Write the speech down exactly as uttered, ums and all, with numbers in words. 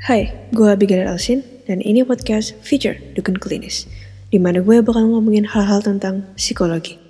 Hai, gue Abigail Elsin, dan ini podcast Future Dukun Klinis, di mana gue bakal ngomongin hal-hal tentang psikologi.